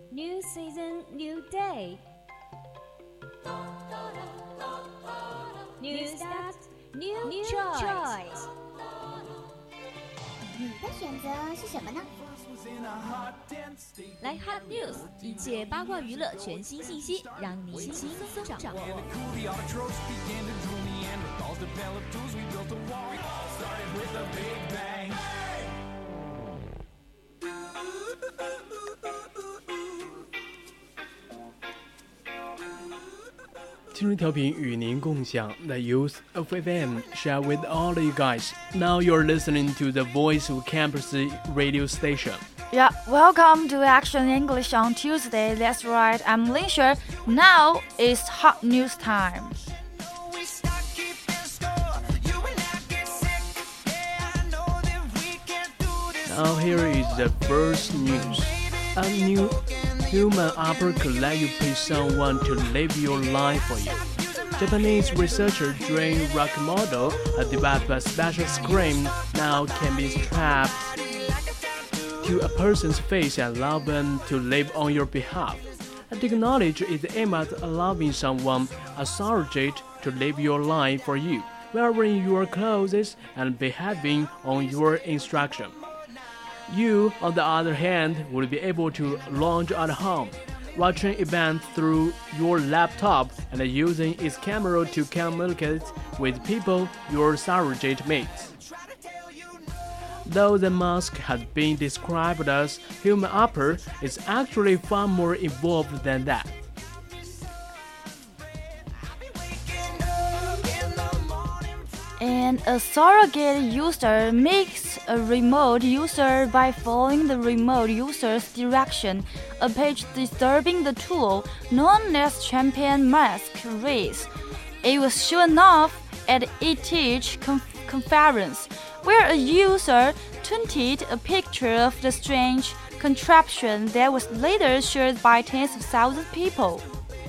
New season, new day. New start, new choice. 你的选择是什么呢？ 来 Hot News， 一切八卦娱乐全新信息，让你轻松掌握。 青春调频与您共享 The Youth of FM, share with all of you guys. Now you're listening to the Voice of Campus radio station. Yeah, welcome to Action English on Tuesday. That's right, I'm Linsher. Now it's hot news time. Now here is the first news. A new human upper could let you pay someone to live your life for you. Japanese researcher Drain Rakamoto has developed a special screen now can be strapped to a person's face and allow them to live on your behalf. The technology is aimed at allowing someone, a surrogate, to live your life for you, wearing your clothes and behaving on your instruction. You, on the other hand, will be able to lounge at home, watching events through your laptop and using its camera to communicate with people your surrogate mates. Though the mask has been described as human upper, it's actually far more involved than that. And a surrogate user makes a remote user by following the remote user's direction, a page describing the tool known as Champion Mask Race. It was shown off at ETH conference, where a user tweeted a picture of the strange contraption that was later shared by tens of thousands of people.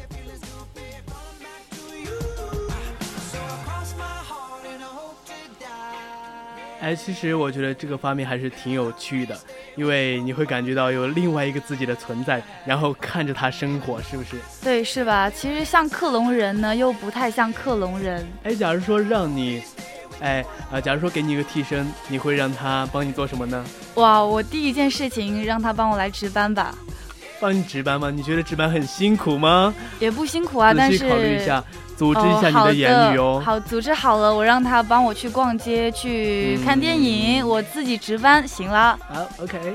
其实我觉得这个方面还是挺有趣的，因为你会感觉到有另外一个自己的存在，然后看着他生活，是不是？ 对，是吧？其实像克隆人呢，又不太像克隆人。 假如说让你，假如说给你一个替身，你会让他帮你做什么呢？ 哇，我第一件事情让他帮我来值班吧。 帮你值班吗？你觉得值班很辛苦吗？ 也不辛苦啊，但是仔细考虑一下。组织一下你的言语哦。 好，组织好了，我让他帮我去逛街，去看电影，我自己值班，行了。 好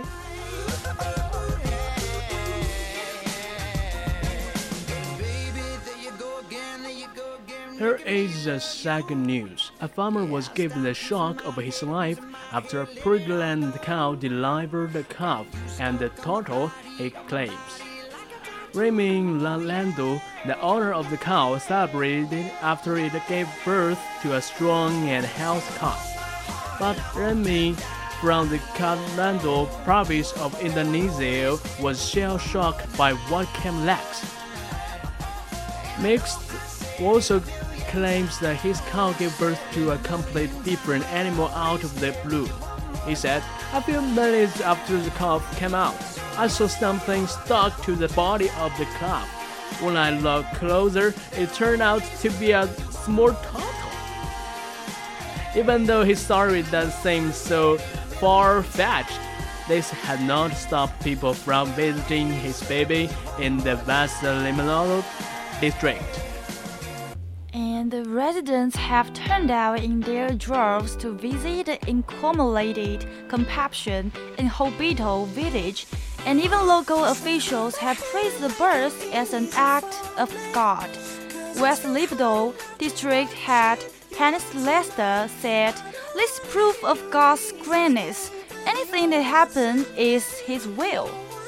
，OK。Here is the second news. A farmer was given the shock of his life after a pregnant cow delivered a calf and the total he claims. Raymond Lalando, the owner of the cow, celebrated after it gave birth to a strong and healthy calf. But Remy from the Kalando province of Indonesia was shell-shocked by what came next. Mixed also claims that his cow gave birth to a completely different animal out of the blue. He said, "A few minutes after the calf came out, I saw something stuck to the body of the calf. When I looked closer, it turned out to be a small turtle." Even though his story does seem so far-fetched, this had not stopped people from visiting his baby in the West Limonado district. And the residents have turned out in their droves to visit the accumulated compassion in Hobito village, and even local officials have praised the birth as an act of God. West Limonado district head Hannes Lester said, "This is proof of God's greatness. Anything that happened is His will."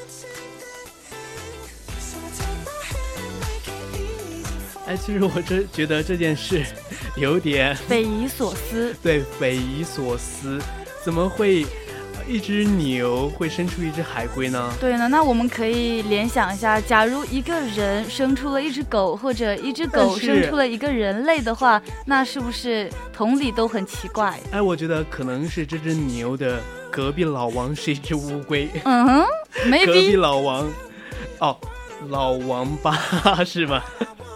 其实我觉得这件事有点匪夷所思。 对，匪夷所思，怎么会一只牛会生出一只海龟呢？ 对呢，那我们可以联想一下，假如一个人生出了一只狗，或者一只狗生出了一个人类的话，那是不是同理都很奇怪？ 我觉得可能是这只牛的隔壁老王是一只乌龟。 maybe 隔壁老王哦，老王八是吗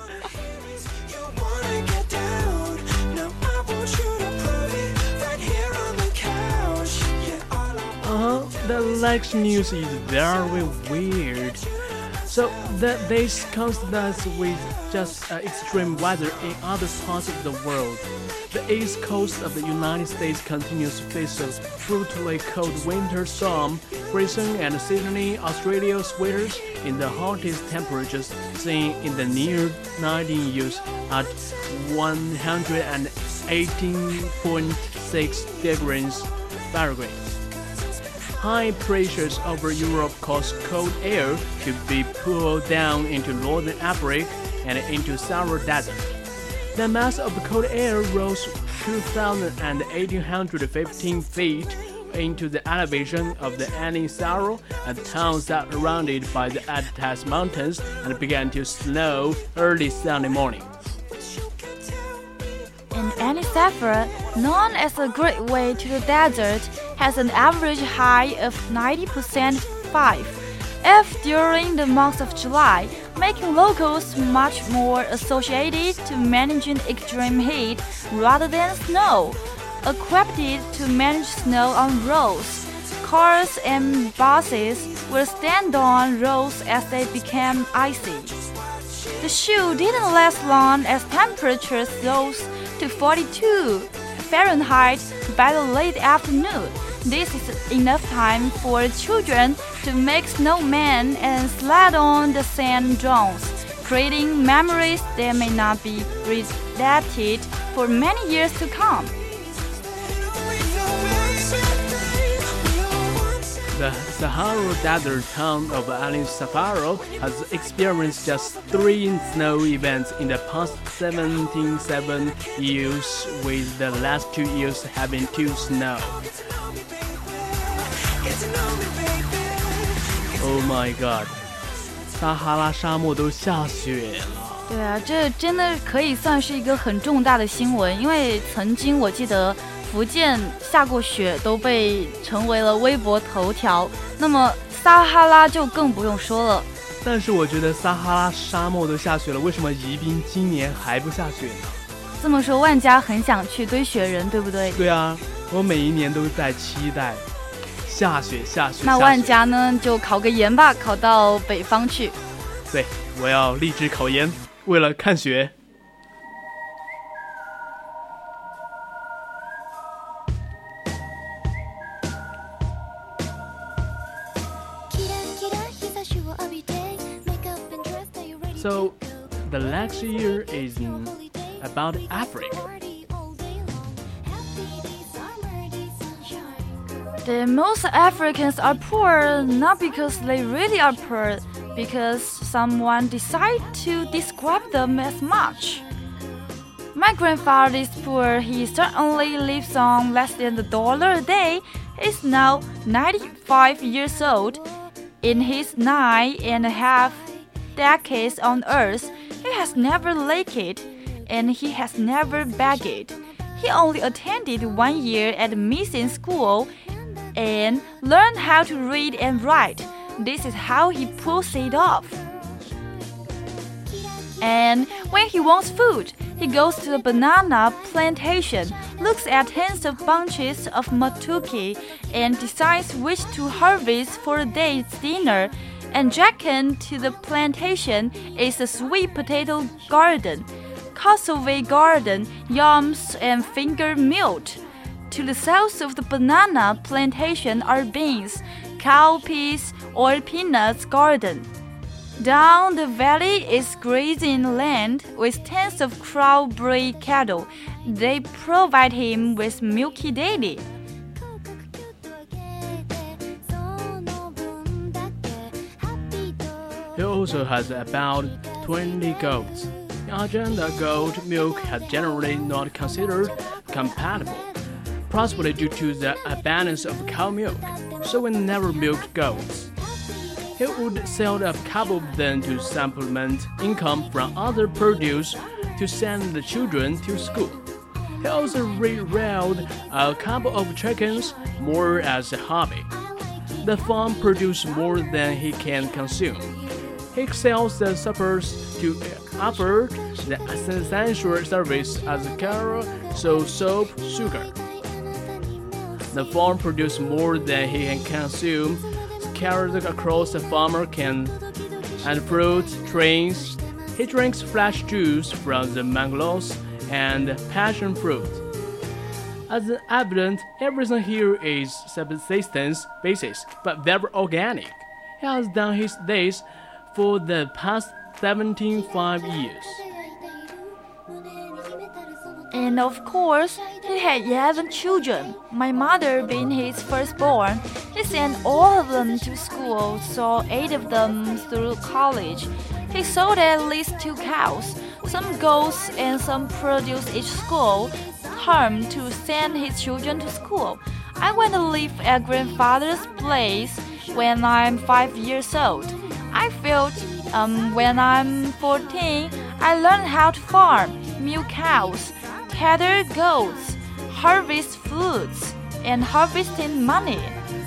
？The next news is very weird. So this contrasts with just extreme weather in other parts of the world. The east coast of the United States continues to face a brutally cold winter storm, freezing and Sydney, Australia's winters in the hottest temperatures seen in the near 19 years at 118.6 degrees Fahrenheit. High pressures over Europe cause cold air to be pulled down into northern Africa and into Sahara Desert. The mass of cold air rose 2,815 feet into the elevation of the Ani Sahara, a town surrounded by the Atlas Mountains, and began to snow early Sunday morning. And Ani Sahara, known as the Great Way to the Desert, has an average high of 90% 5F during the month of July, making locals much more associated to managing extreme heat rather than snow. Equipped to manage snow on roads, cars and buses will stand on roads as they became icy. The show didn't last long as temperatures rose to 42 Fahrenheit by the late afternoon. This is enough time for children to make snowmen and slide on the sand dunes, creating memories that may not be repeated for many years to come. The Sahara Desert town of Ani Sahara has experienced just 3 snow events in the past 77 years, with the last 2 years having 2 snow. Oh my god! 撒哈拉沙漠都下雪了。 对啊，这真的可以算是一个很重大的新闻，因为曾经我记得福建下过雪都被成为了微博头条，那么撒哈拉就更不用说了。 但是我觉得撒哈拉沙漠都下雪了，为什么宜宾今年还不下雪呢？ 这么说，万家很想去堆雪人，对不对？ 对啊，我每一年都在期待下雪。 那万家呢，就考个研吧，考到北方去。 对，我要立志考研，为了看雪。So, the next year is about Africa. Most Africans are poor not because they really are poor, because someone decided to describe them as much. My grandfather is poor. He certainly lives on less than $1 a day. He's now 95 years old. In his 9.5 decades on Earth, he has never lacked, and he has never begged. He only attended 1 year at mission school and learned how to read and write. This is how he pulls it off. And when he wants food, he goes to the banana plantation, looks at tens of bunches of matuki, and decides which to harvest for the day's dinner. And adjacent to the plantation is a sweet potato garden, cassava garden, yams, and finger millet. To the south of the banana plantation are beans, cowpeas, or peanuts garden. Down the valley is grazing land with tens of crow-bred cattle. They provide him with milk daily. He also has about 20 goats. In Argentina, goat milk has generally not considered compatible, possibly due to the abundance of cow milk, so we never milked goats. He would sell a couple of them to supplement income from other produce to send the children to school. He also reared a couple of chickens, more as a hobby. The farm produces more than he can consume. He sells the suppers to offer the essential service as care, so soap, sugar. The farm produces more than he can consume, scattered across the farmer can and fruit trees. He drinks fresh juice from the mangoes and passion fruit. As evident, everything here is subsistence basis, but very organic. He has done his days for the past 75 years. And of course, he had 11 children, my mother being his firstborn. He sent all of them to school, saw 8 of them through college. He sold at least 2 cows, some goats and some produce each school term to send his children to school. I went to live at grandfather's place when I'm 5 years old. I felt when I'm 14, I learned how to farm, milk cows, tether goats, harvest fruits, and harvesting money.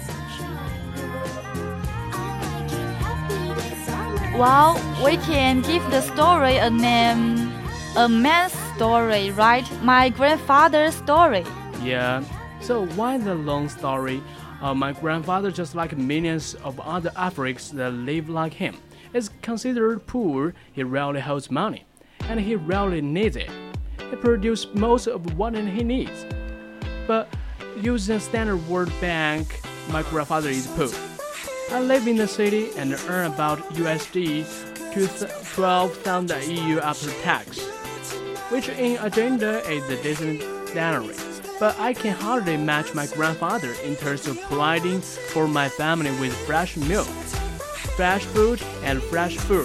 Well, we can give the story a name, a man's story, right? My grandfather's story. Yeah, so why the long story? My grandfather, just like millions of other Africans that live like him, is considered poor. He rarely holds money, and he rarely needs it. He produces most of what he needs. But using a standard World Bank, my grandfather is poor. I live in the city and earn about USD 12,000 a year after tax, which in agenda is a decent salary. But I can hardly match my grandfather in terms of providing for my family with fresh milk, fresh food, and fresh fruits.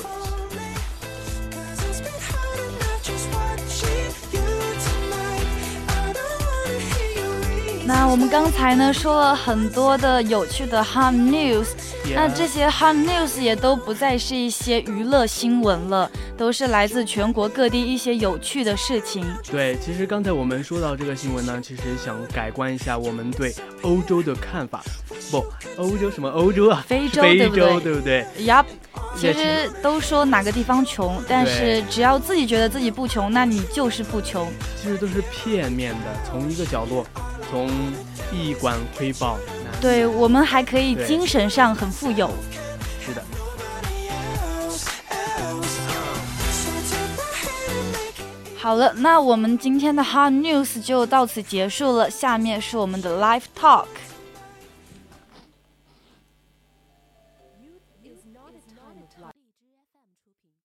那我们刚才呢说了很多的有趣的 hot news， 那这些 hot news 也都不再是一些娱乐新闻了，都是来自全国各地一些有趣的事情。 对，其实刚才我们说到这个新闻呢，其实想改观一下我们对欧洲的看法。不，欧洲什么欧洲啊？ 非洲对不对 ？Yup。其实都说哪个地方穷，但是只要自己觉得自己不穷，那你就是不穷。 其实都是片面的，从一个角落，从一管窥豹。 对，我们还可以精神上很富有。 是的。 好了，那我们今天的 Hot News 就到此结束了，下面是我们的 Live Talk。